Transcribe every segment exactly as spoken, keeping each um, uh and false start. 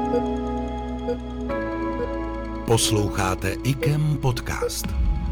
Posloucháte I K E M podcast.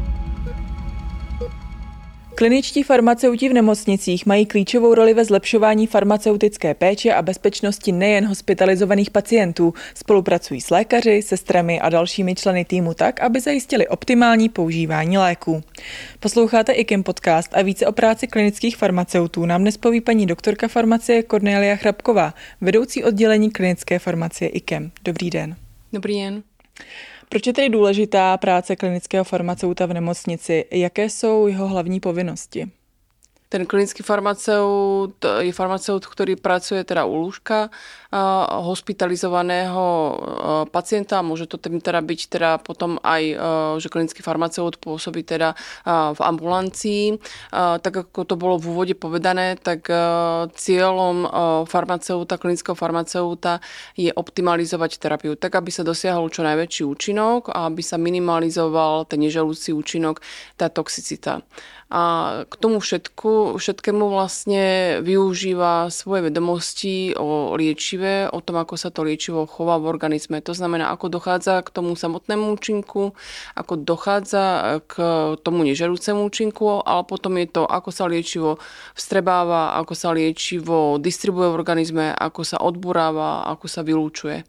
Kliničtí farmaceuti v nemocnicích mají klíčovou roli ve zlepšování farmaceutické péče a bezpečnosti nejen hospitalizovaných pacientů. Spolupracují s lékaři, sestrami a dalšími členy týmu tak, aby zajistili optimální používání léků. Posloucháte I K E M podcast a více o práci klinických farmaceutů nám dnes poví paní doktorka farmacie Kornélia Chrapková, vedoucí oddělení klinické farmacie I K E M. Dobrý den. Dobrý den. Proč je tedy důležitá práce klinického farmaceuta v nemocnici? Jaké jsou jeho hlavní povinnosti? Ten klinický farmaceut je farmaceut, ktorý pracuje teda u lôžka hospitalizovaného pacienta. Môže to teda byť teda potom aj, že klinický farmaceut pôsobí teda v ambulancii. Tak ako to bolo v úvode povedané, tak cieľom farmaceuta, klinického farmaceuta je optimalizovať terapiu, tak aby sa dosiahol čo najväčší účinok a aby sa minimalizoval ten neželúci účinok, tá toxicita. A k tomu všetku, všetkému vlastne využíva svoje vedomosti o liečive, o tom, ako sa to liečivo chová v organizme. To znamená, ako dochádza k tomu samotnému účinku, ako dochádza k tomu nežerúcemu účinku, ale potom je to, ako sa liečivo vstrebáva, ako sa liečivo distribuuje v organizme, ako sa odburáva, ako sa vylúčuje.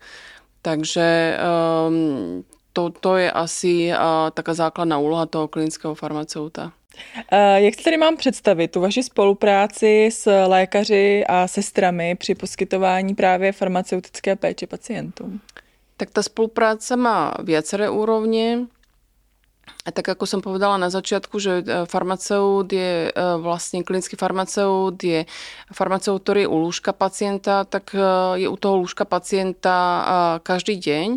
Takže um, to, to je asi uh, taká základná úloha toho klinického farmaceuta. Jak si tedy mám představit tu vaši spolupráci s lékaři a sestrami při poskytování právě farmaceutické péče pacientům? Tak tá spolupráca má viaceré úrovne. A tak ako som povedala na začiatku, že farmaceut je vlastne klinický farmaceut, je farmaceut, ktorý je u lôžka pacienta, tak je u toho lôžka pacienta každý deň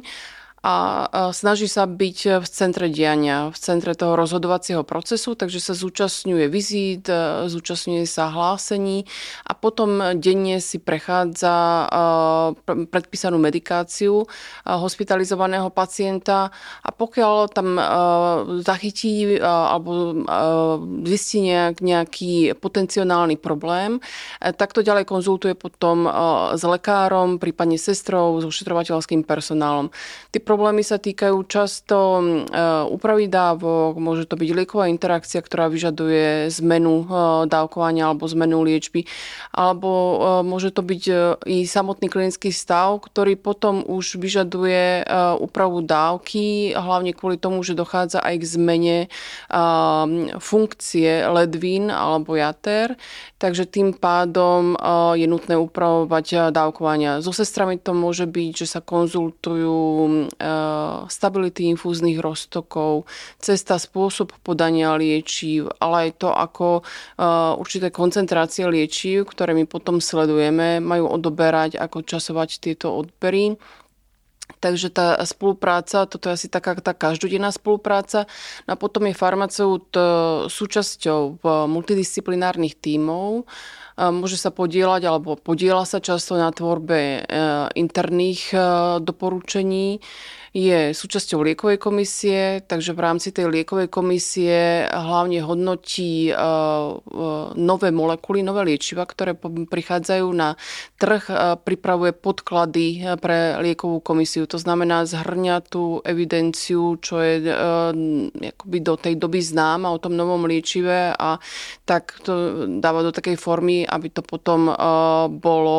a snaží sa byť v centre diania, v centre toho rozhodovacieho procesu, takže sa zúčastňuje vizít, zúčastňuje sa hlásení a potom denne si prechádza predpísanú medikáciu hospitalizovaného pacienta a pokiaľ tam zachytí alebo zistí nejak, nejaký potenciálny problém, tak to ďalej konzultuje potom s lekárom, prípadne sestrou, s ošetrovateľským personálom. Tí problémy sa týkajú často úpravy dávok, môže to byť lieková interakcia, ktorá vyžaduje zmenu dávkovania alebo zmenu liečby, alebo môže to byť i samotný klinický stav, ktorý potom už vyžaduje úpravu dávky, hlavne kvôli tomu, že dochádza aj k zmene funkcie ledvín alebo jater, takže tým pádom je nutné upravovať dávkovania. So sestrami to môže byť, že sa konzultujú stability infúznych roztokov, cesta, spôsob podania liečiv, ale aj to, ako určité koncentrácie liečiv, ktoré my potom sledujeme, majú odoberať, ako časovať tieto odbery. Takže tá spolupráca, toto je asi taká tá každodenná spolupráca. A potom je farmaceut súčasťou multidisciplinárnych tímov. Môže sa podieľať alebo podieľa sa často na tvorbe interných doporučení. Je súčasťou liekovej komisie, takže v rámci tej liekovej komisie hlavne hodnotí nové molekuly, nové liečiva, ktoré prichádzajú na trh, pripravuje podklady pre liekovú komisiu. To znamená zhrňa tú evidenciu, čo je akoby do tej doby známa o tom novom liečive a tak to dáva do takej formy, aby to potom bolo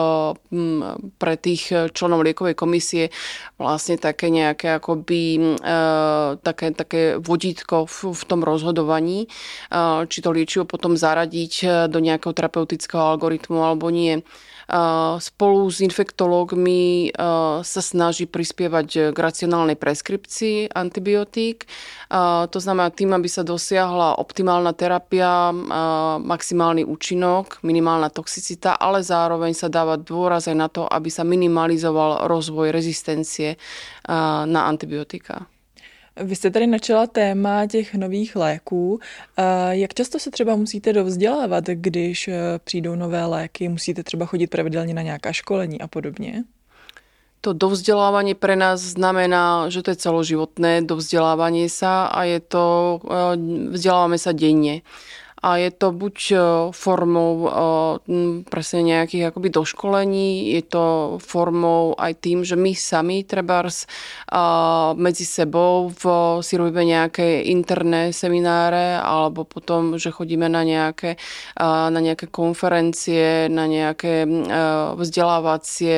pre tých členov liekovej komisie vlastne také nejaké akoby e, také, také vodítko v, v tom rozhodovaní, e, či to liečivo potom zaradiť do nejakého terapeutického algoritmu alebo nie. Spolu s infektológmi sa snaží prispievať k racionálnej preskripcii antibiotík. To znamená tým, aby sa dosiahla optimálna terapia, maximálny účinok, minimálna toxicita, ale zároveň sa dáva dôraz aj na to, aby sa minimalizoval rozvoj rezistencie na antibiotika. Vy jste tady načala téma těch nových léků. Jak často se třeba musíte dovzdělávat, když přijdou nové léky? Musíte třeba chodit pravidelně na nějaká školení a podobně? To dovzdelávanie pre nás znamená, že to je celoživotné dovzdelávanie sa a je to, vzdelávame sa denne. a je to buď formou presne nejakých akoby doškolení, je to formou aj tým, že my sami trebárs medzi sebou v, si robíme nejaké interné semináre alebo potom, že chodíme na nejaké, na nejaké konferencie, na nejaké vzdelávacie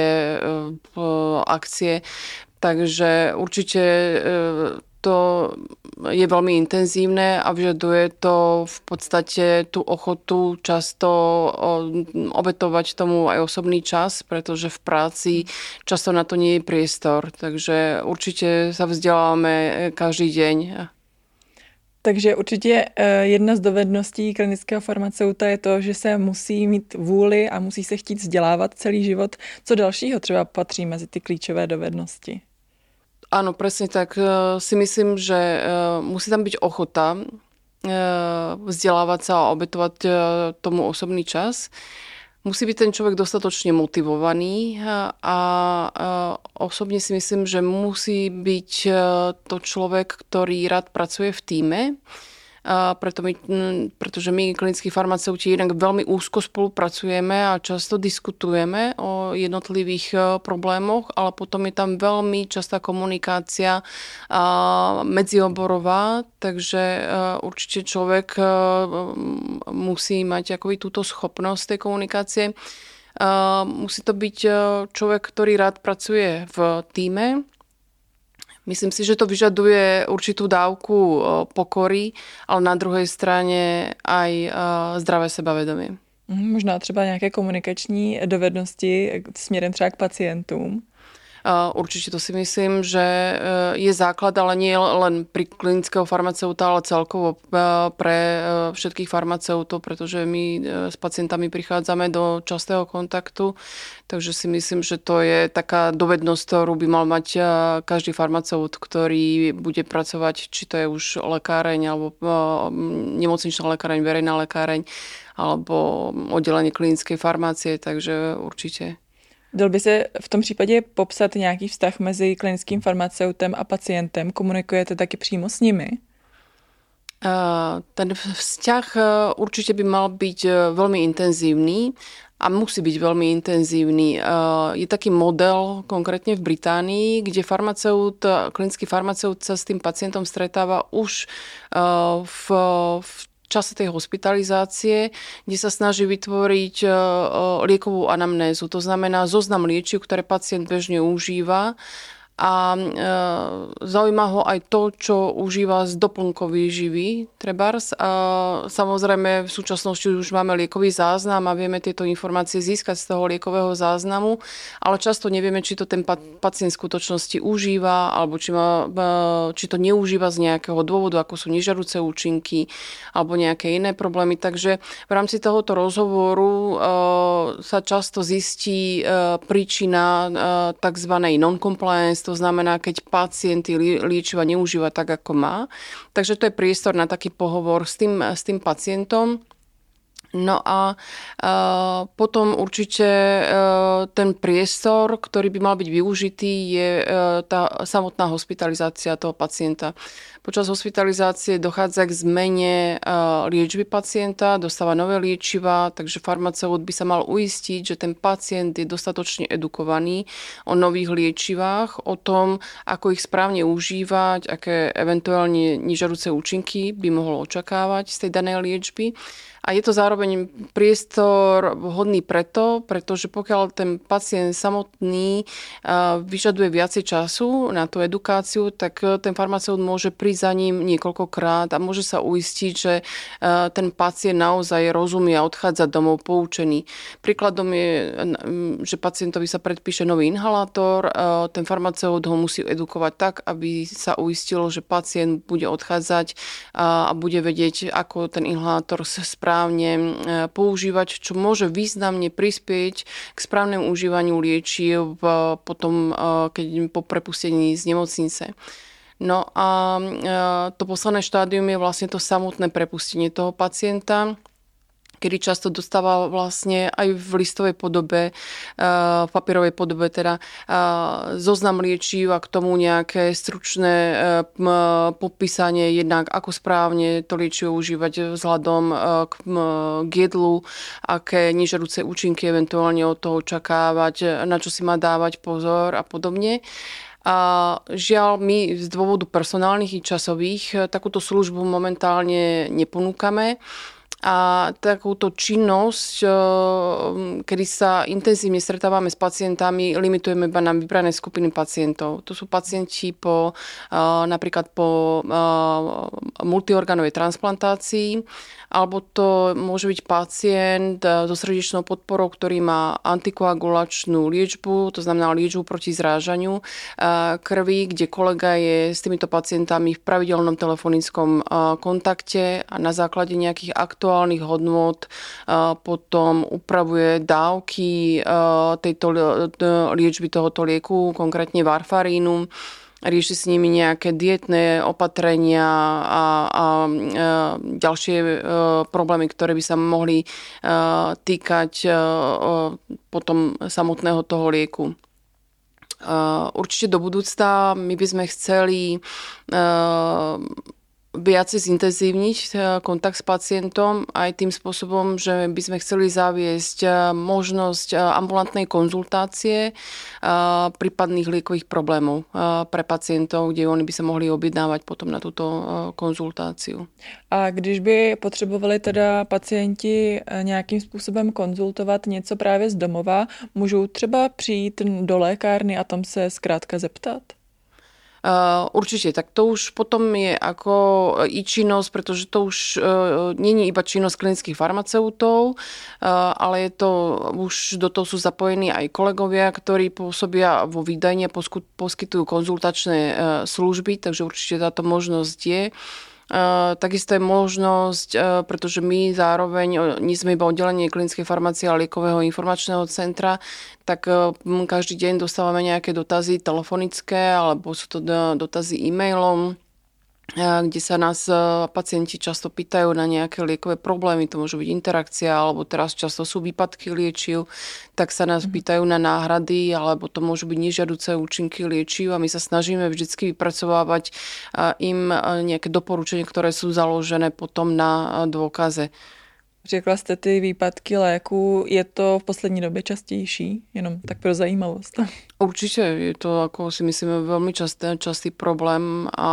akcie. Takže určite to je veľmi intenzívne a vyžaduje to v podstate tú ochotu často obetovať tomu aj osobný čas, pretože v práci často na to nie je priestor. Takže určite sa vzdelávame každý deň. Takže určitě jedna z dovedností klinického farmaceuta je to, že se musí mít vůli a musí se chtít vzdělávat celý život. Co dalšího třeba patří mezi ty klíčové dovednosti? Áno, presne tak. Si myslím, že musí tam byť ochota vzdelávať sa a obetovať tomu osobný čas. Musí byť ten človek dostatočne motivovaný a osobne si myslím, že musí byť to človek, ktorý rád pracuje v tíme. Preto my, pretože my, klinickí farmaceuti, jednak veľmi úzko spolupracujeme a často diskutujeme o jednotlivých problémoch, ale potom je tam veľmi častá komunikácia medzioborová, takže určite človek musí mať akoby túto schopnosť tej komunikácie. Musí to byť človek, ktorý rád pracuje v tíme. Myslím si, že to vyžaduje určitú dávku pokory, ale na druhej strane aj zdravé sebavedomie. Možná třeba nějaké komunikační dovednosti směrem třeba k pacientům. Určite to si myslím, že je základ, ale nie len pri klinického farmaceuta, ale celkovo pre všetkých farmaceutov, pretože my s pacientami prichádzame do častého kontaktu, takže si myslím, že to je taká dovednosť, ktorú by mal mať každý farmaceut, ktorý bude pracovať, či to je už lekáreň, alebo nemocničná lekáreň, verejná lekáreň, alebo oddelenie klinickej farmácie, takže určite. Dal by se v tom případě popsat nějaký vztah mezi klinickým farmaceutem a pacientem? Komunikujete taky přímo s nimi? Ten vzťah určite by mal byť veľmi intenzívny a musí byť veľmi intenzívny. Je taký model konkrétne v Británii, kde farmaceut, klinický farmaceut sa s tým pacientom stretáva už v, v čase tej hospitalizácie, kde sa snaží vytvoriť liekovú anamnézu. To znamená zoznam liečiv, ktoré pacient bežne užíva a e, zaujíma ho aj to, čo užíva z doplnkovej výživy, trebárs. A samozrejme v súčasnosti už máme liekový záznam a vieme tieto informácie získať z toho liekového záznamu, ale často nevieme, či to ten pacient v skutočnosti užíva, alebo či, má, či to neužíva z nejakého dôvodu, ako sú nežiaduce účinky, alebo nejaké iné problémy. Takže v rámci tohoto rozhovoru e, sa často zistí e, príčina e, tzv. Non-compliance. To znamená, keď pacient liečiva neužíva tak, ako má. Takže to je priestor na taký pohovor s tým, s tým pacientom. No a uh, potom určite uh, ten priestor, ktorý by mal byť využitý, je uh, tá samotná hospitalizácia toho pacienta. Počas hospitalizácie dochádza k zmene uh, liečby pacienta, dostáva nové liečiva, takže farmaceut by sa mal uistiť, že ten pacient je dostatočne edukovaný o nových liečivách, o tom, ako ich správne užívať, aké eventuálne nežiaduce účinky by mohol očakávať z tej danej liečby. A je to zároveň priestor vhodný preto, pretože pokiaľ ten pacient samotný vyžaduje viacej času na tú edukáciu, tak ten farmaceut môže prísť za ním niekoľkokrát a môže sa uistiť, že ten pacient naozaj rozumie a odchádza domov poučený. Príkladom je, že pacientovi sa predpíše nový inhalátor, ten farmaceut ho musí edukovať tak, aby sa uistilo, že pacient bude odchádzať a bude vedieť, ako ten inhalátor sa správne používať, čo môže významne prispieť k správnemu užívaniu liečiv potom, keď po prepustení z nemocnice. No a to posledné štádium je vlastne to samotné prepustenie toho pacienta, kedy často dostáva vlastne aj v listovej podobe, v papierovej podobe teda zoznam liečiv a k tomu nejaké stručné popísanie jednak, ako správne to liečivo užívať vzhľadom k jedlu, aké nežiaduce účinky eventuálne od toho očakávať, na čo si má dávať pozor a podobne. A žiaľ, my z dôvodu personálnych i časových takúto službu momentálne neponúkame. A takúto činnosť, kedy sa intenzívne stretávame s pacientami, limitujeme iba na vybrané skupiny pacientov. To sú pacienti po, napríklad po multiorganovej transplantácii, alebo to môže byť pacient so srdečnou podporou, ktorý má antikoagulačnú liečbu, to znamená liečbu proti zrážaniu krvi, kde kolega je s týmito pacientami v pravidelnom telefonickom kontakte a na základe nejakých aktuálnych hodnôt potom upravuje dávky tejto liečby tohoto lieku, konkrétne varfarínu. Rieši s nimi nejaké dietné opatrenia a, a, a ďalšie e, problémy, ktoré by sa mohli e, týkať e, potom samotného toho lieku. E, určite do budúcna my by sme chceli e, viacej zintenzívniť kontakt s pacientom aj tým spôsobom, že by sme chceli zaviesť možnosť ambulantnej konzultácie prípadných liekových problémov pre pacientov, kde oni by sa mohli objednávať potom na túto konzultáciu. A když by potřebovali teda pacienti nějakým způsobem konzultovat něco právě z domova, můžou třeba přijít do lékárny a tam se zkrátka zeptat? Uh, určite, tak to už potom je ako i činnosť, pretože to už uh, nie je iba činnosť klinických farmaceutov, uh, ale je to, už do toho sú zapojení aj kolegovia, ktorí pôsobia vo výdajni a poskytujú konzultačné uh, služby, takže určite táto možnosť je. Uh, takisto je možnosť, uh, pretože my zároveň nie sme iba oddelenie klinickej farmácie a liekového informačného centra, tak uh, každý deň dostávame nejaké dotazy telefonické alebo sú to dotazy e-mailom, kde sa nás pacienti často pýtajú na nejaké liekové problémy, to môže byť interakcia, alebo teraz často sú výpadky liečiv, tak sa nás pýtajú na náhrady, alebo to môžu byť nežiaduce účinky liečiv a my sa snažíme vždycky vypracovávať im nejaké doporučenia, ktoré sú založené potom na dôkaze. Řekla jste ty výpadky léku, je to v poslední době častější? Jenom tak pro zajímavost. Určite, je to, ako si myslíme, veľmi častý, častý problém a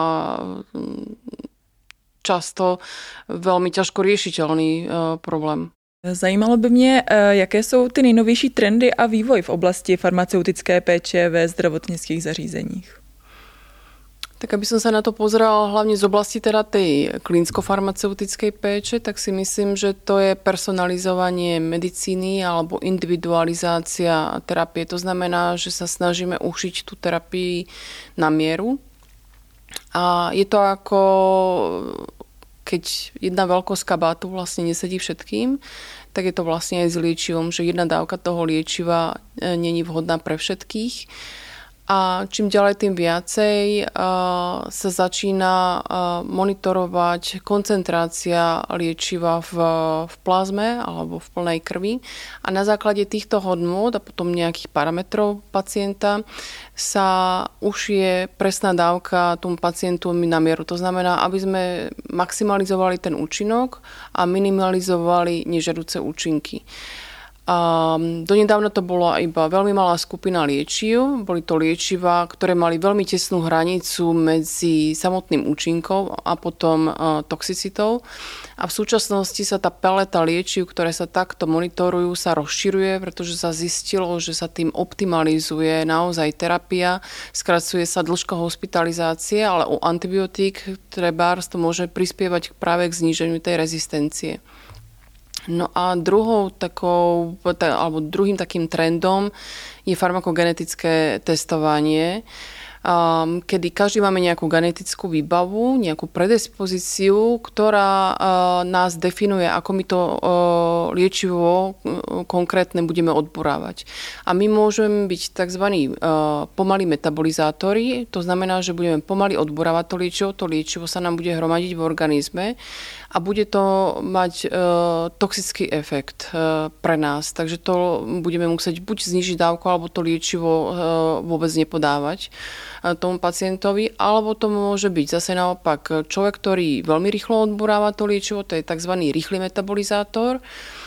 často veľmi ťažko riešiteľný problém. Zajímalo by mě, jaké jsou ty nejnovější trendy a vývoj v oblasti farmaceutické péče ve zdravotnických zařízeních. Tak aby som sa na to pozerala hlavne z oblasti teda tej klinicko-farmaceutickej péče, tak si myslím, že to je personalizovanie medicíny alebo individualizácia terapie. To znamená, že sa snažíme ušiť tú terapii na mieru. A je to ako keď jedna veľkosť kabátu vlastne nesedí všetkým, tak je to vlastne aj s liečivom, že jedna dávka toho liečiva nie je vhodná pre všetkých. A čím ďalej, tým viacej uh, sa začína uh, monitorovať koncentrácia liečiva v, v plazme alebo v plnej krvi. A na základe týchto hodnôt a potom nejakých parametrov pacienta sa ušije presná dávka tomu pacientu na mieru. To znamená, aby sme maximalizovali ten účinok a minimalizovali nežiaduce účinky. A donedávna to bola iba veľmi malá skupina liečiv. Boli to liečiva, ktoré mali veľmi tesnú hranicu medzi samotným účinkom a potom toxicitou. A v súčasnosti sa tá paleta liečiv, ktoré sa takto monitorujú, sa rozširuje, pretože sa zistilo, že sa tým optimalizuje naozaj terapia, skracuje sa dĺžka hospitalizácie, ale u antibiotík trebárs to môže prispievať práve k zníženiu tej rezistencie. No a druhou takou, alebo druhým takým trendom je farmakogenetické testovanie. kedy každý máme nejakú genetickú výbavu, nejakú predispozíciu, ktorá nás definuje, ako my to liečivo konkrétne budeme odburávať. A my môžeme byť tzv. Pomalí metabolizátori, to znamená, že budeme pomaly odburávať to liečivo, to liečivo sa nám bude hromadiť v organizme a bude to mať toxický efekt pre nás. Takže to budeme musieť buď znižiť dávku, alebo to liečivo vôbec nepodávať tomu pacientovi, alebo to môže byť zase naopak človek, ktorý veľmi rýchlo odburáva to liečivo, to je tzv. Rýchly metabolizátor,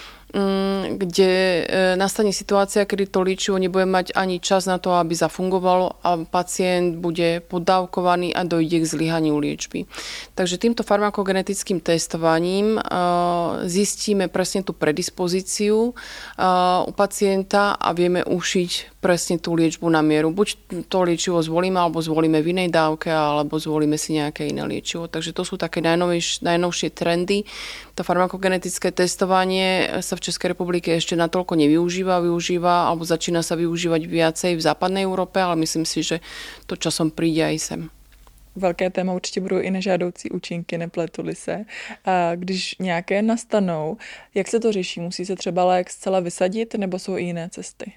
kde nastane situácia, kedy to liečivo nebude mať ani čas na to, aby zafungovalo a pacient bude poddávkovaný a dojde k zlyhaniu liečby. Takže týmto farmakogenetickým testovaním zistíme presne tú predispozíciu u pacienta a vieme ušiť presne tú liečbu na mieru. Buď to liečivo zvolíme, alebo zvolíme v inej dávke, alebo zvolíme si nejaké iné liečivo. Takže to sú také najnovšie, najnovšie trendy. To farmakogenetické testovanie sa v Českej republike ešte natoľko nevyužíva, využíva, alebo začína sa využívať viacej v západnej Európe, ale myslím si, že to časom príde aj sem. Velké téma určitě budou i nežádoucí účinky, nepletuli se. A když nějaké nastanou, jak se to řeší? Musí se třeba lék zcela vysadit, nebo jsou i jiné cesty?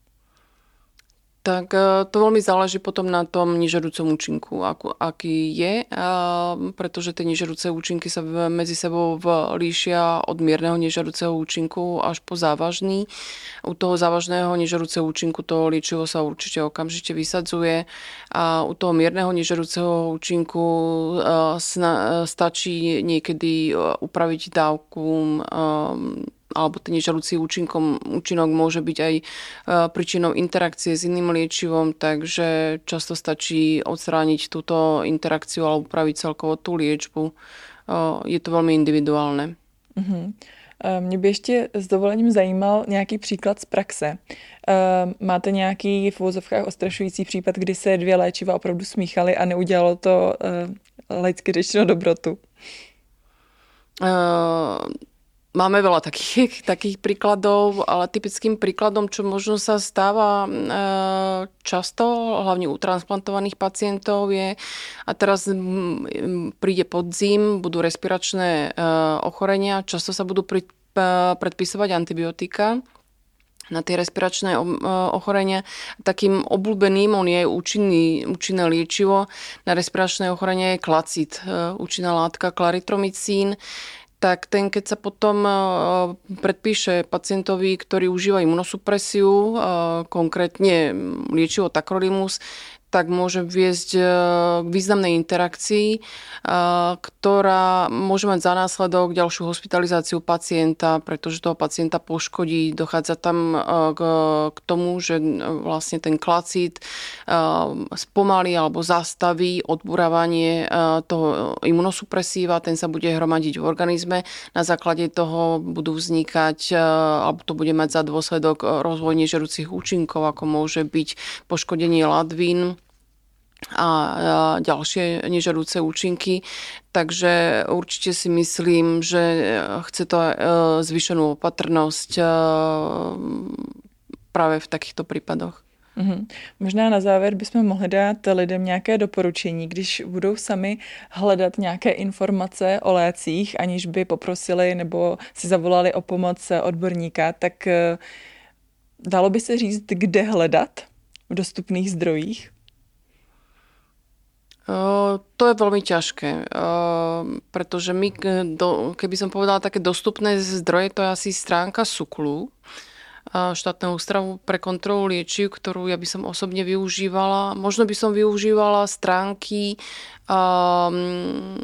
Tak to veľmi záleží potom na tom nežiaducom účinku, aký je, pretože tie nežiaduce účinky sa medzi sebou líšia od mierneho nežiaduceho účinku až po závažný. U toho závažného nežiaduceho účinku to liečivo sa určite okamžite vysadzuje a u toho mierneho nežiaduceho účinku stačí niekedy upraviť dávku, alebo ten nežiaducí účinkom, účinok môže byť aj príčinou interakcie s iným liečivom, takže často stačí odstrániť túto interakciu alebo upraviť celkovo tú liečbu. Je to veľmi individuálne. Uh-huh. Mě by ještě s dovolením zajímal nějaký příklad z praxe. Máte nějaký v uvozovkách ostrašující případ, kdy se dvě léčiva opravdu smíchaly a neudělalo to laicky řečeno dobrotu? Uh... Máme veľa takých, takých príkladov, ale typickým príkladom, čo možno sa stáva často, hlavne u transplantovaných pacientov je, a teraz príde podzim, budú respiračné ochorenia, často sa budú predpisovať antibiotika na tie respiračné ochorenia. Takým obľúbeným, on je účinný, účinné liečivo na respiračné ochorenia je klacid, účinná látka klaritromycín. Tak ten, keď sa potom predpíše pacientovi, ktorý užíva imunosupresiu, konkrétne liečivo tacrolimus, tak môže viesť k významnej interakcii, ktorá môže mať za následok ďalšiu hospitalizáciu pacienta, pretože toho pacienta poškodí. Dochádza tam k, k tomu, že vlastne ten klacid spomalí alebo zastaví odburávanie toho imunosupresíva, ten sa bude hromadiť v organizme. Na základe toho budú vznikať, alebo to bude mať za dôsledok rozvoj nežiaducich účinkov, ako môže byť poškodenie ladvín a ďalšie nežiaduce účinky. Takže určite si myslím, že chce to zvýšenú opatrnosť práve v takýchto prípadoch. Mm-hmm. Možná na závěr bychom mohli dát lidem nějaké doporučení, když budou sami hledat nějaké informace o lécích, aniž by poprosili nebo si zavolali o pomoc odborníka, tak dalo by se říct, kde hledat v dostupných zdrojích? To je veľmi ťažké, pretože my, keby som povedala také dostupné zdroje, to je asi stránka SÚKLu, štátneho ústavu pre kontrolu liečiv, ktorú ja by som osobne využívala. Možno by som využívala stránky um,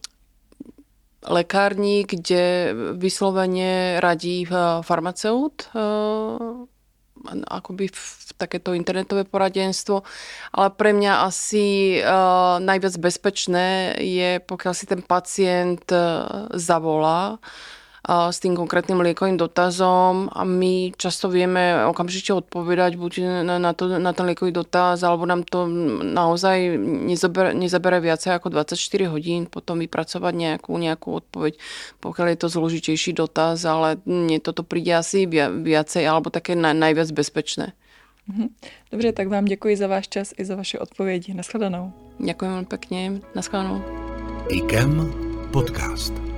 lekární, kde vyslovene radí farmaceut, uh, akoby v takéto internetové poradenstvo, ale pre mňa asi uh, najviac bezpečné je, pokiaľ si ten pacient uh, zavolá uh, s tým konkrétnym liekovým dotazom a my často vieme okamžite odpovedať buď na, na, to, na ten liekový dotaz, alebo nám to naozaj nezabere, nezabere viacej ako dvadsaťštyri hodín potom vypracovať nejakú, nejakú odpoveď, pokiaľ je to zložitejší dotaz, ale mne toto príde asi viacej alebo také na, najviac bezpečné. Dobře, tak vám děkuji za váš čas i za vaše odpovědi. Naschledanou. Ďakujem veľmi pekne. Naschledanou. IKEM podcast.